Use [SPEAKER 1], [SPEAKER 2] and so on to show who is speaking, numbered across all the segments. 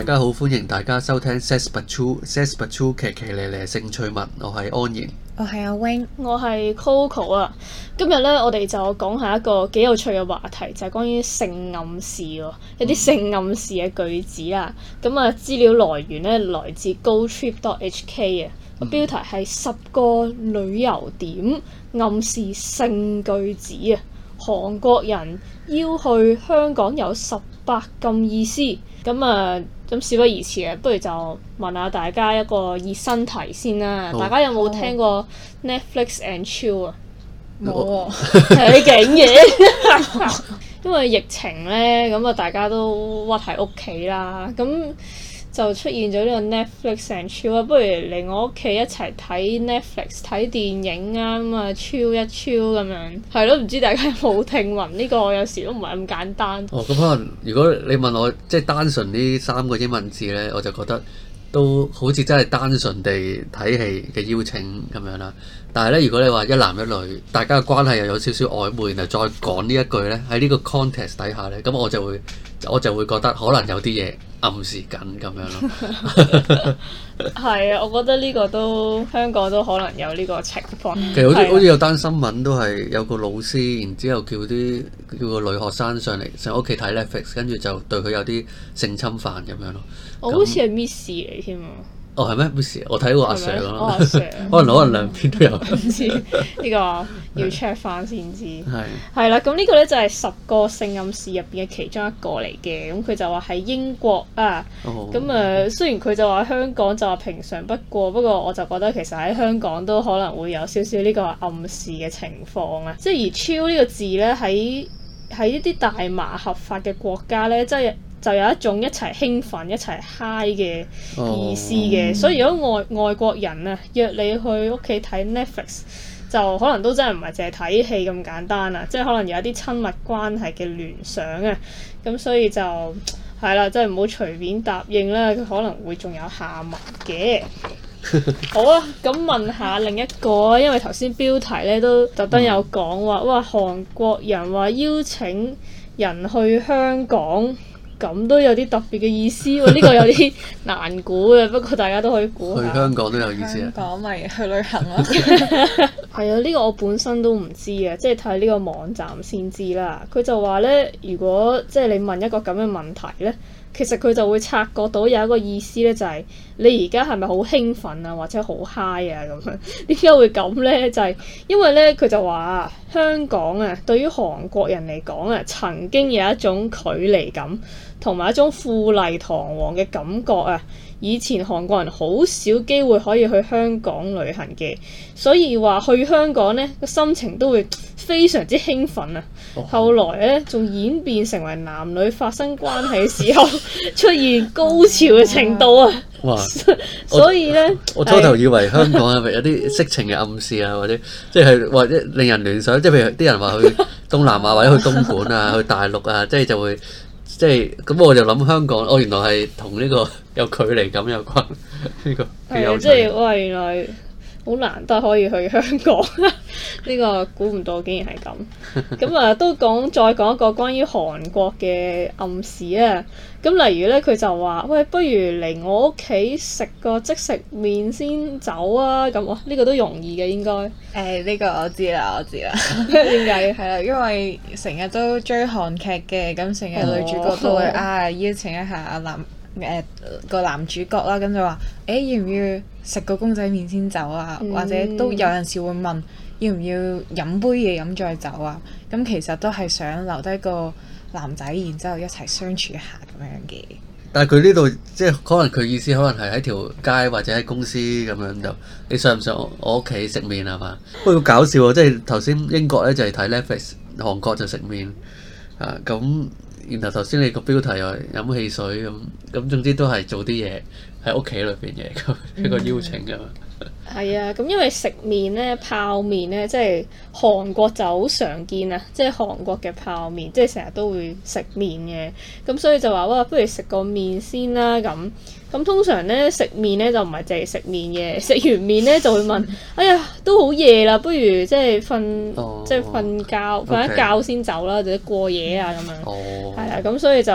[SPEAKER 1] 家好，歡迎大家收聽 Says But True 騎騎咧咧性趣聞，我係安然，
[SPEAKER 2] 我係阿 Wing，
[SPEAKER 3] 我係 Coco 啊。今日咧，我哋就講下一個幾有趣嘅話題，就係關於性暗示喎，一啲性暗示嘅句子啦。咁啊，資料來源咧來自 GoTrip.hk 啊。個標題係10個旅遊點暗示性句子啊。韓國人要去香港有18禁意思。咁事不宜遲啊，不如就問下大家一個熱身題先啦。大家有冇聽過 Netflix and chill 啊？
[SPEAKER 2] 冇喎，
[SPEAKER 3] 係勁嘢。因為疫情咧，咁啊大家都屈喺屋企啦，咁就出現咗呢個 Netflix and chill 啊。不如嚟我屋企一齊睇 Netflix 睇電影啊，咁啊 chill 一 chill 咁樣。係咯，唔知大家有冇聽聞呢個？有時都唔係咁簡單。
[SPEAKER 1] 咁可能如果你問我即係單純呢3個英文字咧，我就覺得都好似真係單純地睇戲嘅邀請咁樣啦。但係咧，如果你話一男一女，大家嘅關係又有少少曖昧，然後再講呢一句咧，喺呢個 context 底下咧，咁我就會覺得可能有啲嘢暗示緊咁樣咯。
[SPEAKER 3] 係啊，我覺得呢個都香港都可能有呢個情況。
[SPEAKER 1] 其實好似有單新聞都係有個老師，然之後叫個女學生上屋企睇 Netflix， 跟住就對佢有啲性侵犯咁樣咯。
[SPEAKER 3] 我好似係 Miss 嚟添啊！
[SPEAKER 1] 哦，係咩 Miss？ 我睇過阿 Sir 咯，
[SPEAKER 3] 阿 Sir
[SPEAKER 1] 可能兩邊都有。
[SPEAKER 3] 唔知呢個要 check 翻先知。
[SPEAKER 1] 係
[SPEAKER 3] 啦，咁呢個咧就係10個性暗示入邊嘅其中一個嚟嘅。咁佢就話喺英國啊。咁雖然佢就話香港就話平常不過我就覺得其實喺香港都可能會有少少呢個暗示嘅情況啊。即係而 chill 呢個字咧喺一啲大麻合法嘅國家咧，即係就有一種一齊興奮、一齊 high 嘅意思嘅。所以如果外國人啊約你去屋企睇 Netflix， 就可能都真係唔係淨係睇戲咁簡單啊，即係可能有一啲親密關係嘅聯想啊。咁所以就係啦，即係唔好隨便答應啦，佢可能會仲有下文嘅。好啊，咁問下另一個啊，因為頭先標題咧都特登有講話，哇韓國人話邀請人去香港。咁都有啲特別嘅意思喎，呢個有啲難估嘅，不過大家都可以估下。
[SPEAKER 1] 去香港都有意思啊！
[SPEAKER 2] 香港咪去旅行咯。
[SPEAKER 3] 係啊，呢個我本身都唔知啊，即係睇呢個網站先知啦。佢就話咧，如果即係你問一個咁嘅問題咧，其實佢就會察覺到有一個意思咧，就係你而家係咪好興奮啊，或者好 high 啊咁樣？點解會咁咧？就係因為咧，佢就話香港啊，對於韓國人嚟講啊，曾經有一種距離感。同埋一種富麗堂皇嘅感覺啊！以前韓國人好少機會可以去香港旅行嘅，所以話去香港呢個心情都會非常之興奮啊！後來呢仲演變成為男女發生關係嘅時候出現高潮嘅程度啊！
[SPEAKER 1] 哇！
[SPEAKER 3] 所以呢，
[SPEAKER 1] 我初頭以為香港係咪有啲色情嘅暗示啊，或者或者令人聯想，即係譬如啲人話去東南亞或者去東莞啊、去大陸啊，就會。即係咁，我就諗香港，原來係同呢個有距離感有關。呢個幾有趣。
[SPEAKER 3] 即係哇，原來好難得可以去香港，呢個估唔到竟然係咁。咁啊，都再講一個關於韓國嘅暗示啊。咁例如咧，佢就話：喂，不如嚟我屋企食個即食麵先走啊！咁呢個都容易嘅應該。
[SPEAKER 2] 呢個我知啦。
[SPEAKER 3] 點解？
[SPEAKER 2] 係啦，因為成日都追韓劇嘅，咁成日女主角都會邀請一下個男主角啦，咁就話：要唔要食個公仔麵先走啊？或者都有陣時會問要唔要飲杯嘢飲再走啊？咁其實都係想留低個男仔，然之後一齊相處一下咁樣嘅。
[SPEAKER 1] 但係佢呢度即係可能佢意思可能係喺條街或者喺公司咁樣就，你上唔上我屋企食麵係嘛？不過好搞笑喎，即係頭先英國咧就係睇 Netflix， 韓國就食麵啊咁。然後頭先你個標題又係飲汽水咁，總之都係做啲嘢喺屋企裏邊嘅一個邀請㗎嘛。
[SPEAKER 3] 係啊，咁因為食麵咧、泡麵咧，即係韓國就好常見啊，即係韓國嘅泡麵，即係成日都會食麵嘅，咁所以就話哇，不如食個麵先啦咁。咁通常咧食麵咧就唔係淨係食麵嘅，食完麵咧就會問：哎呀，都好夜啦，不如即係瞓覺，瞓一覺先走啦，或者過夜啊咁樣。係啦，咁所以就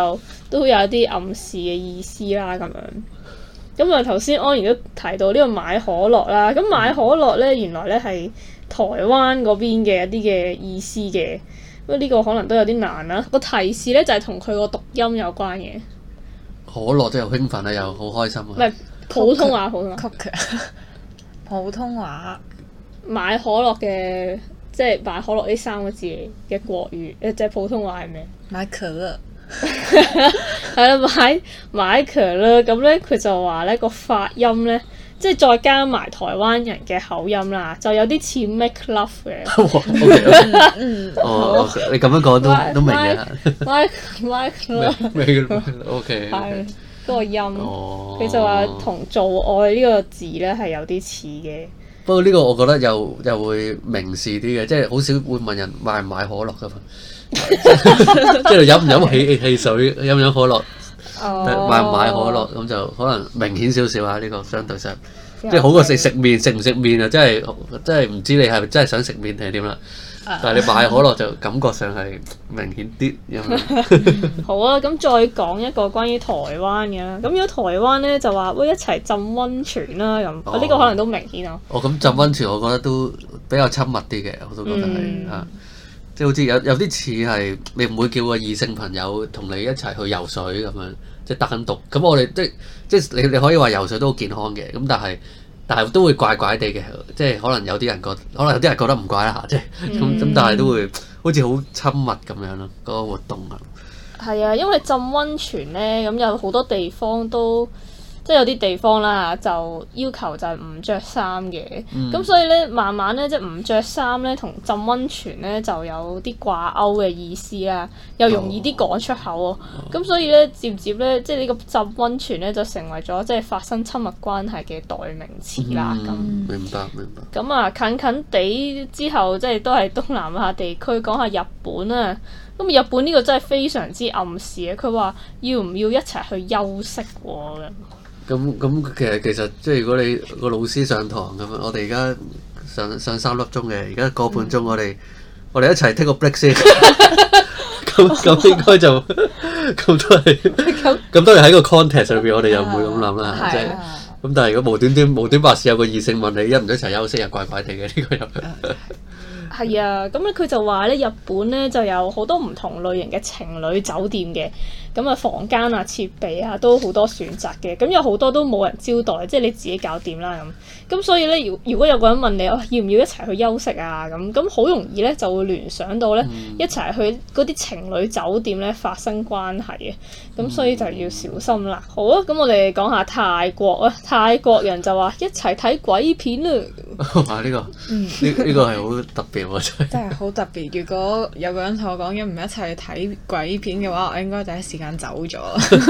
[SPEAKER 3] 都有啲暗示嘅意思啦咁樣。咁啊頭先安然都提到呢個買可樂啦，咁買可樂咧原來咧係台灣嗰邊嘅一啲嘅意思嘅，不過呢個可能都有啲難啦。個提示咧就係同佢個讀音有關嘅。
[SPEAKER 1] 可樂真係好興奮啊，又好開心啊！
[SPEAKER 3] 唔係普通話，
[SPEAKER 2] 普通話
[SPEAKER 3] 買可樂嘅，即係買可樂呢3個字嘅國語，即係普通話係咩？
[SPEAKER 2] 買可樂。
[SPEAKER 3] 係啦，買可樂咁咧，佢就話咧個發音咧，即係再加埋台灣人嘅口音啦，就有啲似 make love 嘅。
[SPEAKER 1] 哦，你咁樣講都明嘅。OK。
[SPEAKER 3] 係嗰個音，佢就話同做愛呢個字咧係有啲似嘅。
[SPEAKER 1] 不過呢個我覺得又會明示啲嘅，即係好少會問人買唔買可樂噶嘛。即係飲唔飲汽水，飲唔飲可樂，買唔買可樂咁就可能明顯少少啊！呢個相對上，即係好過食麵，食唔食麵啊？真係唔知你係咪真係想食麵定係點啦？但係你買可樂就感覺上係明顯啲咁樣。
[SPEAKER 3] 好啊，咁再講一個關於台灣嘅啦。咁如果台灣咧就話喂一齊浸溫泉啦咁，呢個可能都明顯啊。
[SPEAKER 1] 咁浸溫泉我覺得都比較親密啲嘅，我都覺得係啊。即係好似有啲似係你唔會叫個異性朋友同你一齊去游水咁樣，即係單獨。咁我哋即係你可以話游水都好健康嘅，咁但係都會怪怪地嘅，即係可能有啲人覺得唔怪啦嚇，即係咁但係都會好似好親密咁樣咯，嗰個活動啊。
[SPEAKER 3] 係啊，因為浸溫泉咧，咁有好多地方都。即係有啲地方啦，就要求就係唔着衫嘅，咁所以咧慢慢咧即係唔着衫咧同浸溫泉咧就有啲掛鈎嘅意思啦，又容易啲講出口喎，咁所以咧漸漸咧即係呢個浸溫泉咧就成為咗即係發生親密關係嘅代名詞啦。咁
[SPEAKER 1] 明白。
[SPEAKER 3] 咁啊近近地之後即係都係東南亞地區，講下日本啊。咁日本呢個真係非常之暗示嘅，佢話要唔要一齊去休息喎？
[SPEAKER 1] 咁其實即係如果你個老師上堂咁樣，我哋而家上3粒鐘嘅，而家個半鐘我哋一齊 take 個 break 先。咁應該就咁都係喺個 context 上邊，我哋又唔會咁諗啦。即係咁，但係如果無端白事有個異性問你一唔一齊休息，又怪怪地嘅呢個又。
[SPEAKER 3] 係啊，咁咧佢就話咧，日本咧就有好多唔同類型嘅情侶酒店嘅，咁啊房間啊設備啊都好多選擇嘅，咁有好多都冇人招待，即係你自己搞掂啦咁所以咧，如果有個人問你要唔要一齊去休息啊咁好容易咧就會聯想到咧一齊去嗰啲情侶酒店咧發生關係嘅，咁所以就要小心啦。好啊，咁我哋講下泰國啊，泰國人就話一齊睇鬼片啊。
[SPEAKER 1] 哇！呢個係好特別喎，
[SPEAKER 2] 真係好特別。如果有個人同我講要唔一齊睇鬼片嘅話，我應該第一時間走咗。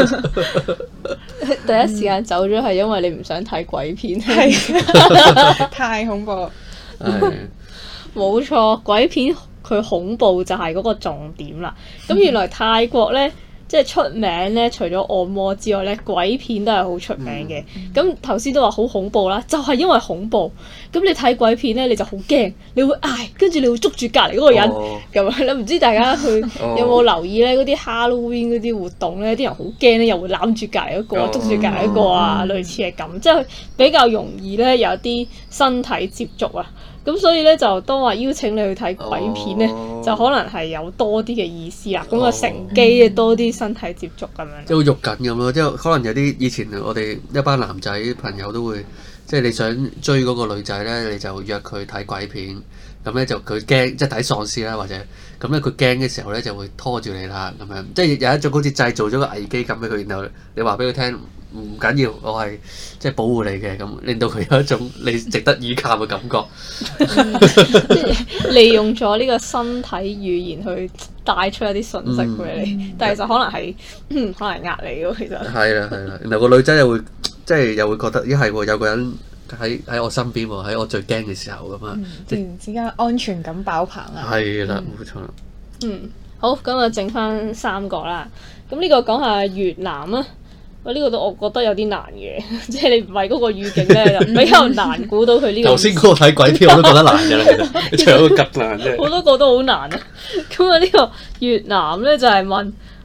[SPEAKER 3] 第一時間走咗係因為你唔想睇鬼片，
[SPEAKER 2] 太恐怖。
[SPEAKER 3] 冇錯，鬼片佢恐怖就係嗰個重點啦。咁原來泰國呢，即係出名咧，除咗按摩之外咧，鬼片都係好出名嘅。咁頭先都話好恐怖啦，就係因為恐怖。咁你睇鬼片咧，你就好驚，你會嗌，跟住你會捉住隔離嗰個人咁樣。你唔知大家有冇留意咧？嗰啲 Halloween 嗰啲活動咧，啲人好驚咧，又會攬住隔離嗰個，捉住隔離嗰個啊，類似係咁，即係比較容易咧有啲身體接觸啊。咁所以咧就當話邀請你去睇鬼片咧，就可能係有多啲嘅意思啦。咁啊乘機多啲身體接觸咁樣。
[SPEAKER 1] 即係好肉緊咁咯，即係可能有啲以前我哋一班男仔朋友都會，即係你想追嗰個女仔咧，你就約佢睇鬼片。咁咧就佢驚，即係睇喪屍啦，或者咁咧佢驚嘅時候咧就會拖住你啦，咁樣即係有一種好似製造咗個危機感俾佢，然後你話俾佢聽唔緊要，我係即係保護你嘅，咁令到佢有一種你值得依靠嘅感覺。
[SPEAKER 3] 即係利用咗呢個身體語言去帶出一啲信息俾你，但係就可能係可能呃你咯，其實。係
[SPEAKER 1] 啦，然後個女仔又會即係又會覺得咦係喎，有個人喺我身邊喎，喺我最驚嘅時候咁啊！
[SPEAKER 2] 突然之間安全感爆棚啊！
[SPEAKER 1] 係啦，冇錯。
[SPEAKER 3] 好，咁啊，剩翻3個啦。咁呢個講下越南啊。呢個都我覺得有啲難嘅，即係你唔係嗰個語境咧，就比較難估到佢呢個。頭
[SPEAKER 1] 先嗰個睇鬼片我都覺得難嘅啦，其實你唱到咁難啫。
[SPEAKER 3] 好多個都好難啊！咁啊，呢個越南咧就係問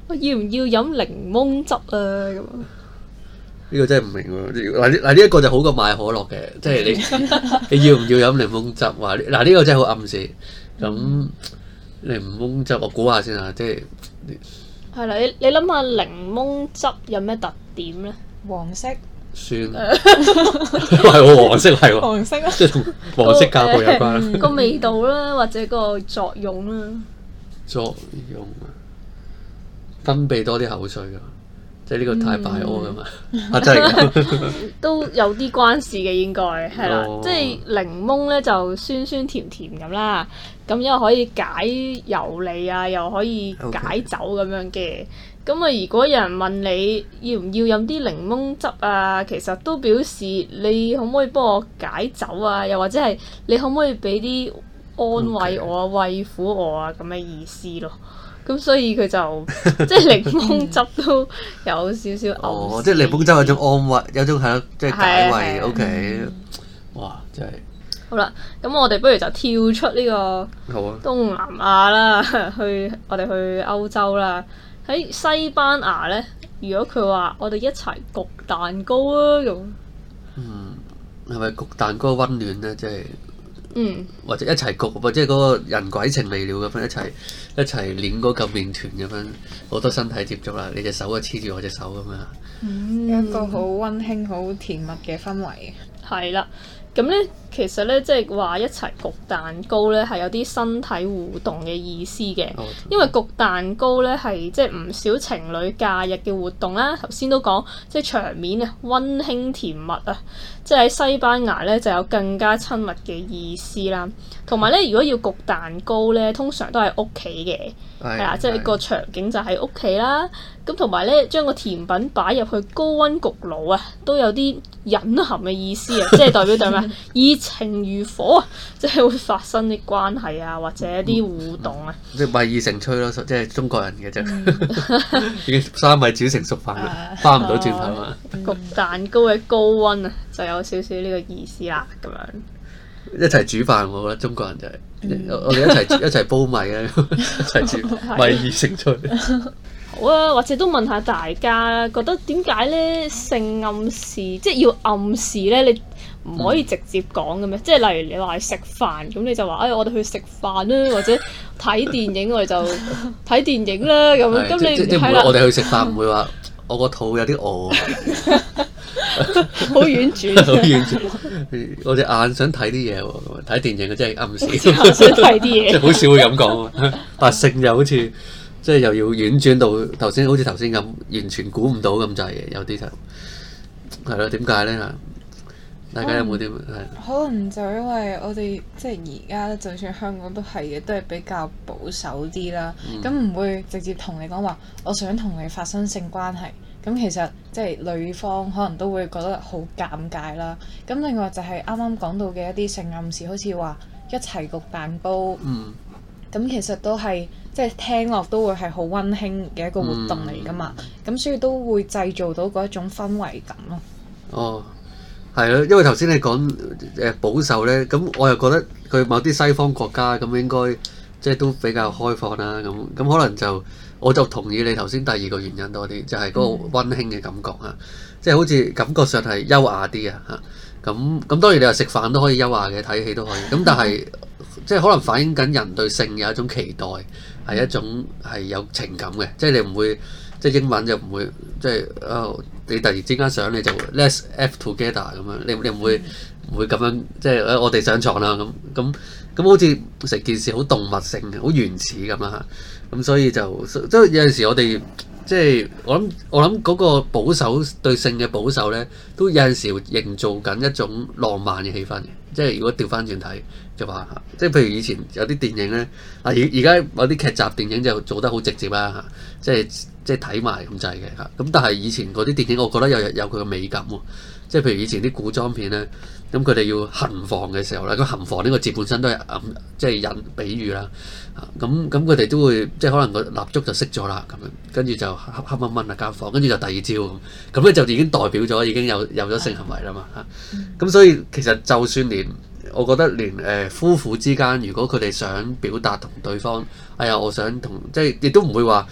[SPEAKER 3] 我要唔要飲檸檬汁啊？咁
[SPEAKER 1] 呢個真係唔明喎。嗱呢一個就好過買可樂嘅，即係你要唔要飲檸檬汁？話嗱呢個真係好暗示。咁檸檬汁我估下先啊，即係
[SPEAKER 3] 係啦，你諗下檸檬汁有咩特點咧？
[SPEAKER 2] 黃色，
[SPEAKER 1] 酸，係喎黃色係喎，
[SPEAKER 2] 黃色啊，
[SPEAKER 1] 即係同黃色教育有關。
[SPEAKER 3] 個味道啦，或者個作用啦。
[SPEAKER 1] 作用啊，分泌多啲口水㗎，即係呢個太敗屙㗎嘛，真係㗎。
[SPEAKER 3] 都有啲關事嘅應該係啦，
[SPEAKER 1] 哦
[SPEAKER 3] 即係檸檬咧就酸酸甜甜咁啦，咁因為可以解油膩啊，又可以解酒咁樣嘅。咁啊，如果有人問你要唔要飲啲檸檬汁啊，其實都表示你可唔可以幫我解酒啊，又或者係你可唔可以俾啲安慰我啊、慰撫我啊咁嘅意思咯。咁所以佢就即係檸檬汁都有少少
[SPEAKER 1] 哦，即係檸檬汁有種安慰，有種係咯，即係解慰。
[SPEAKER 3] 係
[SPEAKER 1] OK，哇，真係
[SPEAKER 3] 好啦，咁我哋不如就跳出呢個
[SPEAKER 1] 好啊！
[SPEAKER 3] 東南亞啦，我哋去歐洲啦。喺西班牙咧，如果佢話我哋一齊焗蛋糕啊咁，
[SPEAKER 1] 係咪焗蛋糕溫暖咧？即係或者一齊焗，或者嗰個人鬼情未了咁樣一齊攣嗰嚿麵團咁樣，好多身體接觸啦。你隻手啊黐住我隻手咁樣，
[SPEAKER 2] 一個好溫馨、好甜蜜嘅氛圍。
[SPEAKER 3] 係啦。咁咧，其實咧，即係話一齊焗蛋糕咧，係有啲身體互動嘅意思嘅。因為焗蛋糕咧係即係唔少情侶假日嘅活動啦。頭先都講，即係場面啊，溫馨甜蜜啊，即係喺西班牙咧就有更加親密嘅意思啦。同埋咧，如果要焗蛋糕咧，通常都係屋企嘅，係啦，即係個場景就喺屋企啦。咁同埋咧，將個甜品擺入去高溫焗爐啊，都有啲隱含嘅意思啊，即係代表咩？以情如火啊，即係會發生啲關係啊，或者一啲互動啊。
[SPEAKER 1] 即係米已成炊咯，即係中國人嘅啫，已經三米煮成熟飯啦，翻唔到轉頭啊！
[SPEAKER 3] 焗蛋糕嘅高溫啊，就有少少呢個意思啦，咁樣。
[SPEAKER 1] 一齊煮飯，我覺得中國人就係我哋一齊煲米啊，一齊煮米已成炊。
[SPEAKER 3] 好啊，或者都問下大家，覺得點解咧性暗示，即係要暗示咧？你唔可以直接講嘅咩？即係例如你話食飯，咁你就話我哋去食飯啦，或者睇電影我哋就睇電影啦咁樣。咁你
[SPEAKER 1] 即係我哋去食飯唔會話我個肚有啲餓。
[SPEAKER 3] 好婉轉，
[SPEAKER 1] 好婉轉。我隻眼想睇啲嘢喎，睇電影嘅真係暗示。
[SPEAKER 3] 想睇啲嘢，
[SPEAKER 1] 即係好少會咁講喎。但性又好似即係又要婉轉到頭先，好似頭先咁，完全估唔到咁滯嘅，有啲就係咯。點解咧嚇？大家有冇啲
[SPEAKER 2] 可能就因為我哋即係而家，就算香港都係嘅，都係比較保守啲啦。咁唔會直接同你講話，我想同你發生性關係。咁其實即係女方可能都會覺得好尷尬啦。咁另外就係啱啱講到嘅一啲性暗示，好似話一齊焗蛋糕。咁其實都係即係聽落都會係好溫馨嘅一個活動嚟㗎嘛。咁所以都會製造到嗰一種氛圍感咯。
[SPEAKER 1] 哦。係咯，因為頭先你講保守咧，咁我又覺得佢某啲西方國家咁應該即係都比較開放啦，咁可能就我就同意你頭先第二個原因多啲，就係嗰個溫馨嘅感覺啊，即係好似感覺上係優雅啲啊嚇，咁當然你話食飯都可以優雅嘅，睇戲都可以，咁但係即係可能反映緊人對性有一種期待，係一種係有情感嘅，即係你唔會。即係英文就唔會，即係你突然之間想你就 let's have together 咁樣，你唔會咁樣，即係我哋上床啦咁好似成件事好動物性嘅，好原始咁啦嚇，咁所以就即係有陣時我哋即係我諗嗰個保守對性嘅保守咧，都有陣時營造緊一種浪漫嘅氣氛嘅，即係如果調翻轉睇就話嚇，即係譬如以前有啲電影咧，而家有啲劇集電影就做得好直接啦嚇，即係睇埋咁滯嘅嚇，咁但係以前嗰啲電影，我覺得有佢嘅美感喎。即係譬如以前啲古裝片咧，咁佢哋要行房嘅時候咧，個行房呢個字本身都係即係引比喻啦。咁佢哋都會即係可能個蠟燭就熄咗啦，咁樣跟住就黑掹掹啊間房，跟住就第二朝咁咧就已經代表咗已經有咗性行為啦嘛嚇。咁所以其實就算我覺得連夫婦之間，如果佢哋想表達同對方，我想同即係亦都唔會話。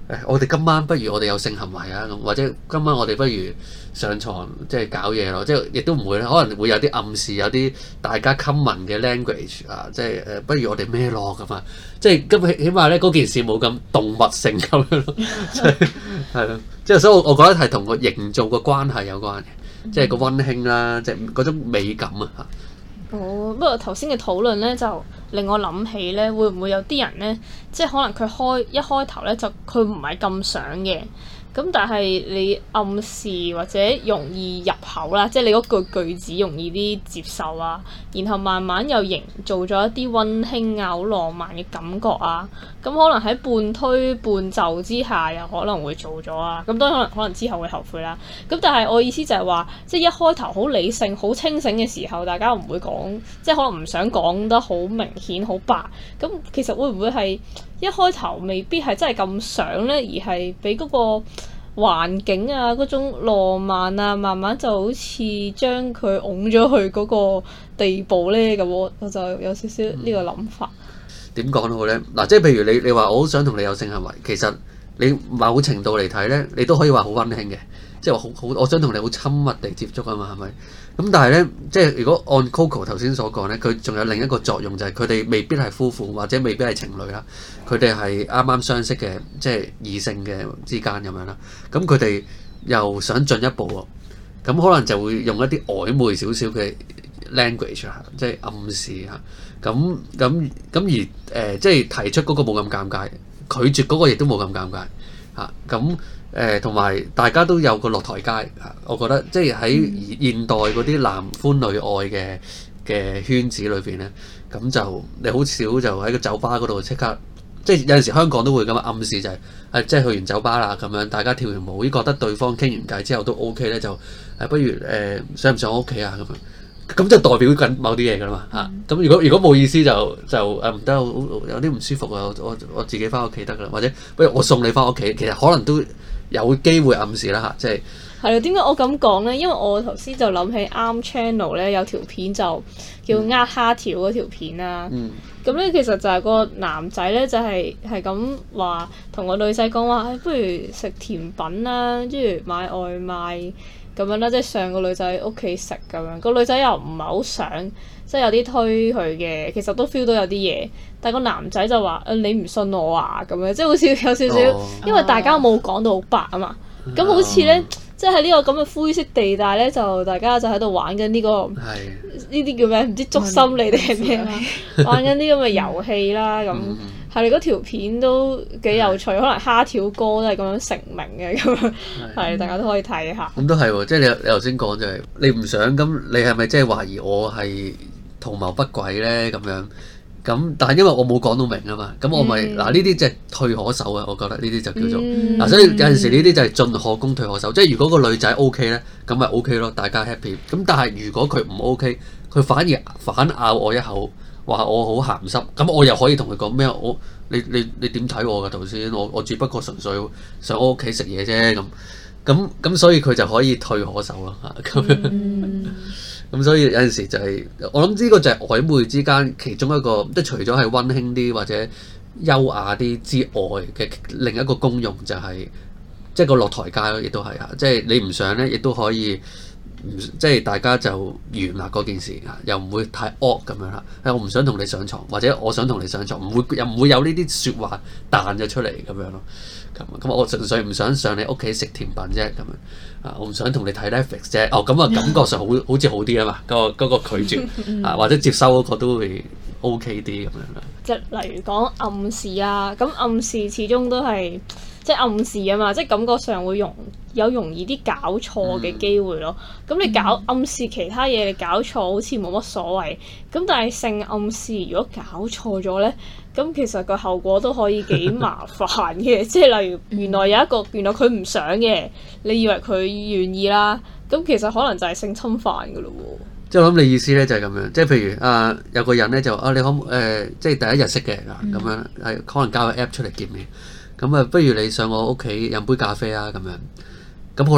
[SPEAKER 1] 我哋今晚不如我哋有性行為啊咁，或者今晚我哋不如上床即係搞嘢咯，即係亦都唔會，可能會有啲暗示，有啲大家 common 嘅 language 啊，即係不如我哋咩咯咁啊，即係咁起碼咧嗰件事冇咁動物性咁樣咯，係咯，即係所以我覺得係同個營造個關係有關嘅，即係個溫馨啦，即係嗰種美感啊嚇。
[SPEAKER 3] 哦，不過頭先嘅討論咧，就令我諗起咧，會唔會有啲人咧，即係可能佢一開頭咧就佢唔係咁想嘅，咁但係你暗示或者容易入口啦，即係你嗰句子容易啲接受啊，然後慢慢又營造咗一啲溫馨啊、好浪漫嘅感覺啊，咁可能喺半推半就之下，又可能會做咗啊，咁當然可能之後會後悔啦。咁但係我意思就係話，即係一開頭好理性、好清醒嘅時候，大家唔會講，即係可能唔想講得好明顯、好白。咁其實會唔會係一開頭未必係真係咁想咧，而係俾嗰個環境啊、嗰種浪漫啊，慢慢就好似將佢擁咗去嗰個地步咧？咁我就有少少呢個諗法。
[SPEAKER 1] 點講好咧？嗱，即係譬如你話我好想同你有性行為，其實你某程度嚟睇咧，你都可以話好溫馨嘅，即係話好我想同你好親密地接觸啊嘛，係咪？咁但係咧，即係如果按 Coco 頭先所講咧，佢仲有另一個作用就係佢哋未必係夫婦或者未必係情侶啦，佢哋係啱啱相識嘅，即係異性嘅之間咁樣啦。咁佢哋又想進一步喎，咁可能就會用一啲曖昧少少嘅 language 啊，即係暗示啊。咁而即係提出嗰個冇咁尷尬，拒絕嗰個亦都冇咁尷尬嚇。咁同埋大家都有個落台階嚇，我覺得即係喺現代嗰啲男歡女愛嘅圈子裏邊咧，咁就你好少就喺個酒吧嗰度即刻，即係有陣時香港都會咁樣暗示就係即係去完酒吧啦咁樣，大家跳完舞，覺得對方傾完偈之後都 OK 咧，就不如上唔上我屋企啊咁樣。咁就代表緊某啲嘢㗎啦嘛嚇，咁如果冇意思就唔得，有啲唔舒服啊，我自己翻屋企得㗎啦，或者不如我送你翻屋企，其實可能都有機會暗示啦嚇，即係
[SPEAKER 3] 係啊，點解我咁講咧？因為我頭先就諗起啱 channel 咧有條片就叫呃蝦條嗰條片啦，咁咧其實就係個男仔咧就係咁話同個女仔講話，不如食甜品啦，跟住買外賣。咁樣啦，即係上個女仔屋企食咁樣，個女仔又唔係好想，即係有啲推佢嘅，其實都 feel 到有啲嘢，但係個男仔就話：你唔信我啊咁樣，即係好似有少少，因為大家冇講到好白啊嘛，咁好似咧，即係喺呢個咁嘅灰色地帶咧，就大家就喺度玩緊呢個呢啲叫咩？唔知捉心理定係咩？玩緊啲咁嘅遊戲啦咁。係你嗰條片都幾有趣，可能蝦條哥都係咁樣成名嘅咁樣，係大家都可以睇下。
[SPEAKER 1] 咁都係喎，即係你頭先講就係你唔想咁，你係咪即係懷疑我係圖謀不軌咧咁樣？咁但係因為我冇講到明啊嘛，咁我咪嗱呢啲即係退可守啊，我覺得呢啲就叫做嗱，所以有陣時呢啲就係進可攻退可守，即係如果個女仔 OK 咧，咁咪 OK 咯，大家 happy。咁但係如果佢唔 OK，佢反咬我一口。話我好鹹濕，咁我又可以同佢講咩？你點睇我㗎頭先？我只不過純粹上我屋企食嘢啫咁，所以佢就可以退可守咯嚇咁樣。咁所以有陣時就係我諗呢個就係曖昧之間其中一個，即係除咗係溫馨啲或者優雅啲之外嘅另一個功用就係即係個落台階咯，亦都係嚇。即係你唔想咧，亦都可以。即係大家就完啦嗰件事嚇，又唔會太惡咁樣啦。我唔想同你上床，或者我想同你上床，又唔會有呢啲説話彈咗出嚟咁樣咯。咁我純粹唔想上你屋企食甜品啫咁樣。我唔想同你睇 Netflix 啫。咁啊感覺上好似好啲啊嘛。嗰個拒絕或者接收嗰個都會 OK 啲咁樣啦。
[SPEAKER 3] 即係例如講暗示啊，咁暗示始終都係。即係暗示啊嘛，即係感覺上會容易啲搞錯嘅機會咯。咁你暗示其他嘢，你搞錯好似冇乜所謂。咁但係性暗示如果搞錯咗咧，咁其實個後果都可以幾麻煩嘅。即係例如原來佢唔想嘅，你以為佢願意啦，咁其實可能就係性侵犯㗎咯喎。
[SPEAKER 1] 即係我諗你意思咧就係咁樣，即係譬如有個人咧就你可即係第一日識嘅咁樣，係可能交個 app 出嚟見面。咁不如你上我屋企飲杯咖啡啊咁樣。咁好啦，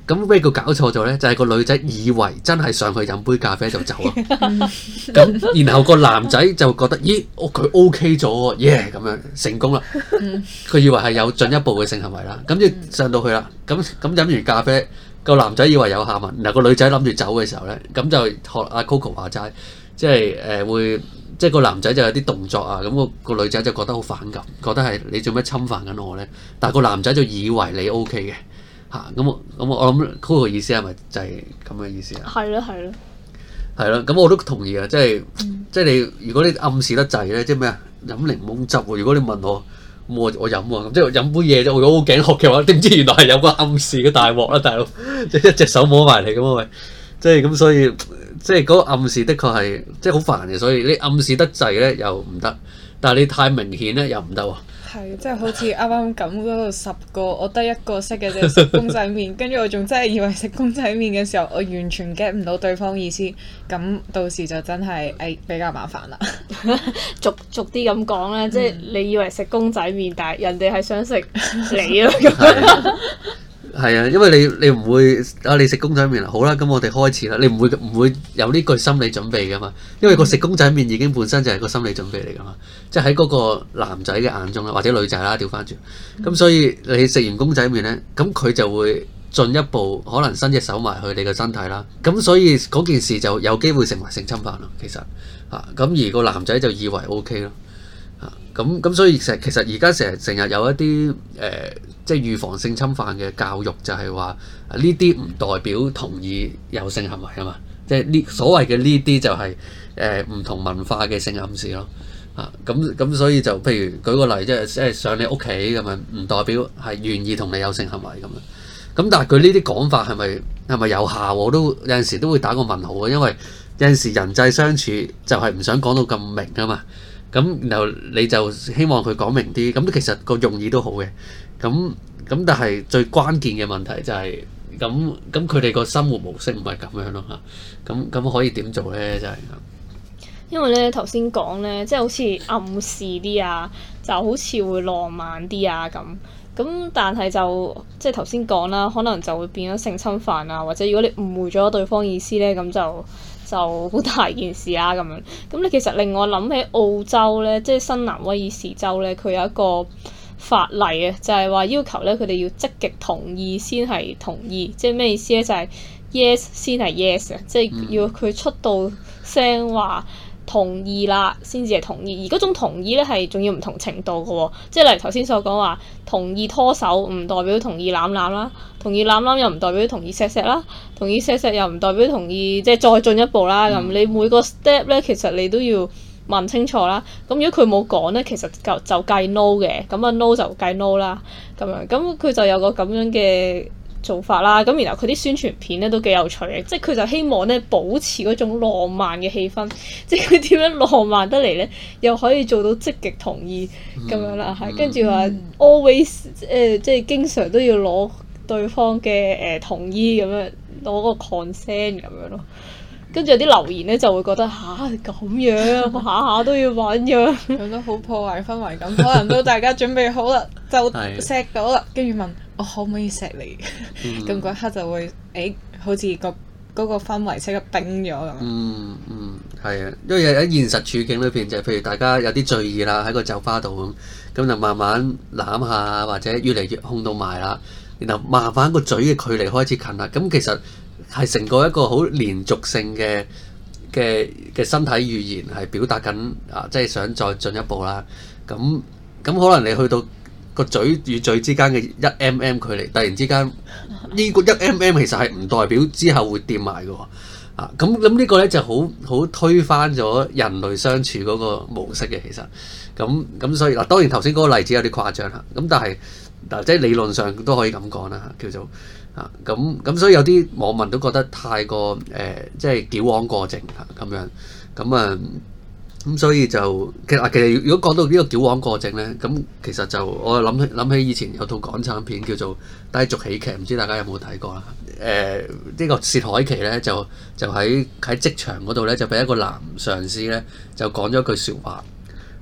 [SPEAKER 1] 咁咩叫搞錯咗咧？就係個女仔以為真係上去飲杯咖啡就走啊。咁然後個男仔就覺得咦，佢 OK 咗喎，耶咁樣成功啦。佢以為係有進一步嘅性行為啦，咁就上到去啦。咁飲完咖啡，個男仔以為有下文，然後個女仔諗住走嘅時候咧，咁就學阿 Coco 話齋，即係會。即係個男仔就有啲動作啊，咁個女仔就覺得好反感，覺得係你做咩侵犯緊我咧？但係個男仔就以為你 OK 嘅嚇，咁我諗 Coco 意思係咪就係咁嘅意思啊？
[SPEAKER 3] 係咯係咯，
[SPEAKER 1] 係咯，咁我都同意啊！即係你如果你暗示得滯咧，即係咩啊？飲檸檬汁喎！如果你問我，我飲喎，咁即係飲杯嘢啫。我如果好頸渴嘅話，點知原來係有個暗示嘅大鑊啦，大佬！即係一隻手摸埋嚟咁啊喂！即係咁，所以即係嗰個暗示的確係即係好煩嘅，所以你暗示得滯咧又唔得，但係你太明顯咧又唔得喎。
[SPEAKER 2] 係，即係好似啱啱咁嗰度10個，我得一個識嘅啫，食公仔麵，跟住我仲真係以為食公仔麵嘅時候，我完全 get 唔到對方意思，咁到時就真係比較麻煩啦。
[SPEAKER 3] 逐啲咁講咧，即係你以為食公仔麵，但係人哋係想食你咯咁。
[SPEAKER 1] 係啊，因為你唔會你食公仔麵啦，好啦，咁我哋開始啦。你唔會有呢句心理準備噶嘛？因為個食公仔麵已經本身就係個心理準備嚟噶嘛。即係喺嗰個男仔嘅眼中啦，或者女仔啦，調翻轉。咁所以你食完公仔麵咧，咁佢就會進一步可能伸隻手埋去你嘅身體啦。咁所以嗰件事就有機會成為性侵犯咯。其實咁而個男仔就以為 OK 咯。咁所以其實而家成日有一啲即係預防性侵犯嘅教育，就係話呢啲唔代表同意有性行為啊嘛。即係呢所謂嘅呢啲就係唔同文化嘅性暗示咯。咁所以就譬如舉個例，即係上你屋企咁樣，唔代表係願意同你有性行為咁樣。咁但係佢呢啲講法係咪有效？我都有陣時都會打個問號嘅，因為有陣時人際相處就係唔想講到咁明啊嘛。咁然後你就希望佢講明啲，咁其實個用意都好嘅。咁但係最關鍵嘅問題就係咁佢哋個生活模式唔係咁樣咯嚇。咁可以點做咧？就係
[SPEAKER 3] 因為咧頭先講咧，即係好似暗示啲啊，就好似會浪漫啲啊咁。咁但係就即係頭先講啦，可能就會變咗性侵犯啊，或者如果你誤會咗對方意思咧，咁就好大件事啊咁樣。咁你其實令我諗起澳洲咧，即係新南威爾士州咧，佢有一個法例啊，就係話要求咧佢哋要積極同意先係同意，即係咩意思咧？就係 yes 先係 yes 啊，即係要佢出到聲話同意啦，先至係同意。而嗰種同意咧係仲要唔同程度嘅喎，即係例如頭先所講話同意拖手唔代表同意攬攬啦，同意攬攬又唔代表同意錫錫啦，同意錫錫又唔代表同意即係再進一步啦。咁你每個 step 咧，其實你都要問清楚啦。咁如果佢冇講咧，其實就計 no 嘅，咁啊 no 就計 no 啦。咁樣咁佢就有個咁樣嘅做法啦。咁然後佢啲宣傳片咧都幾有趣嘅，即係佢就希望咧保持嗰種浪漫嘅氣氛，即係佢點樣浪漫得嚟咧，又可以做到積極同意咁樣啦。係跟住話 always 即係經常都要攞對方嘅同意咁樣，攞個 consent 咁樣咯。跟住有啲留言咧就會覺得咁樣下下都要揾樣，
[SPEAKER 2] 咁都好破壞氛圍感。可能都大家準備好啦，就錫到啦，跟住問我可唔可以錫你？咁嗰刻就會好似嗰個氛圍即刻冰咗咁。
[SPEAKER 1] 係啊，因為喺現實處境裏邊就係譬如大家有啲醉意啦，喺個酒吧度咁就慢慢攬下，或者越嚟越控到埋啦，然後慢慢個嘴嘅距離開始近啦。咁其實係成個一個好連續性嘅身體語言係表達緊即係想再進一步啦。咁可能你去到個嘴與嘴之間嘅1mm距離，突然之間呢個1mm其實係唔代表之後會掂埋嘅喎。咁呢個咧就好推翻咗人類相處嗰個模式嘅其實。咁所以當然頭先嗰個例子有啲誇張嚇。咁但係即係理論上都可以咁講啦，叫做。咁所以有啲網民都覺得太過即係矯枉過正咁樣，咁所以就其實如果講到呢個矯枉過正咧，咁其實就我諗起以前有套港產片叫做《低俗喜劇》，唔知大家有冇睇過啦？呢個薛凱琪咧就喺職場嗰度咧就俾一個男上司咧就講咗句説話，